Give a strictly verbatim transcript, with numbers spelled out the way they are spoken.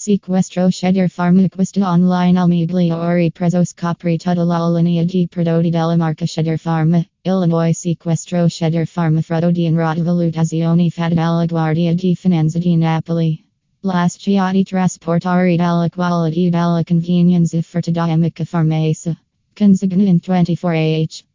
Sequestro schedir farma questa online al migliori prezzo scopri tutta la linea di prodotti della marca schedir farma. Illinois sequestro schedir farma frutto di in valutazione fatta dalla Guardia di Finanza di Napoli. Las Chiati trasportare dalla qualità dalla convenienza offerta da amica farmacea. Consigna in ventiquattro h.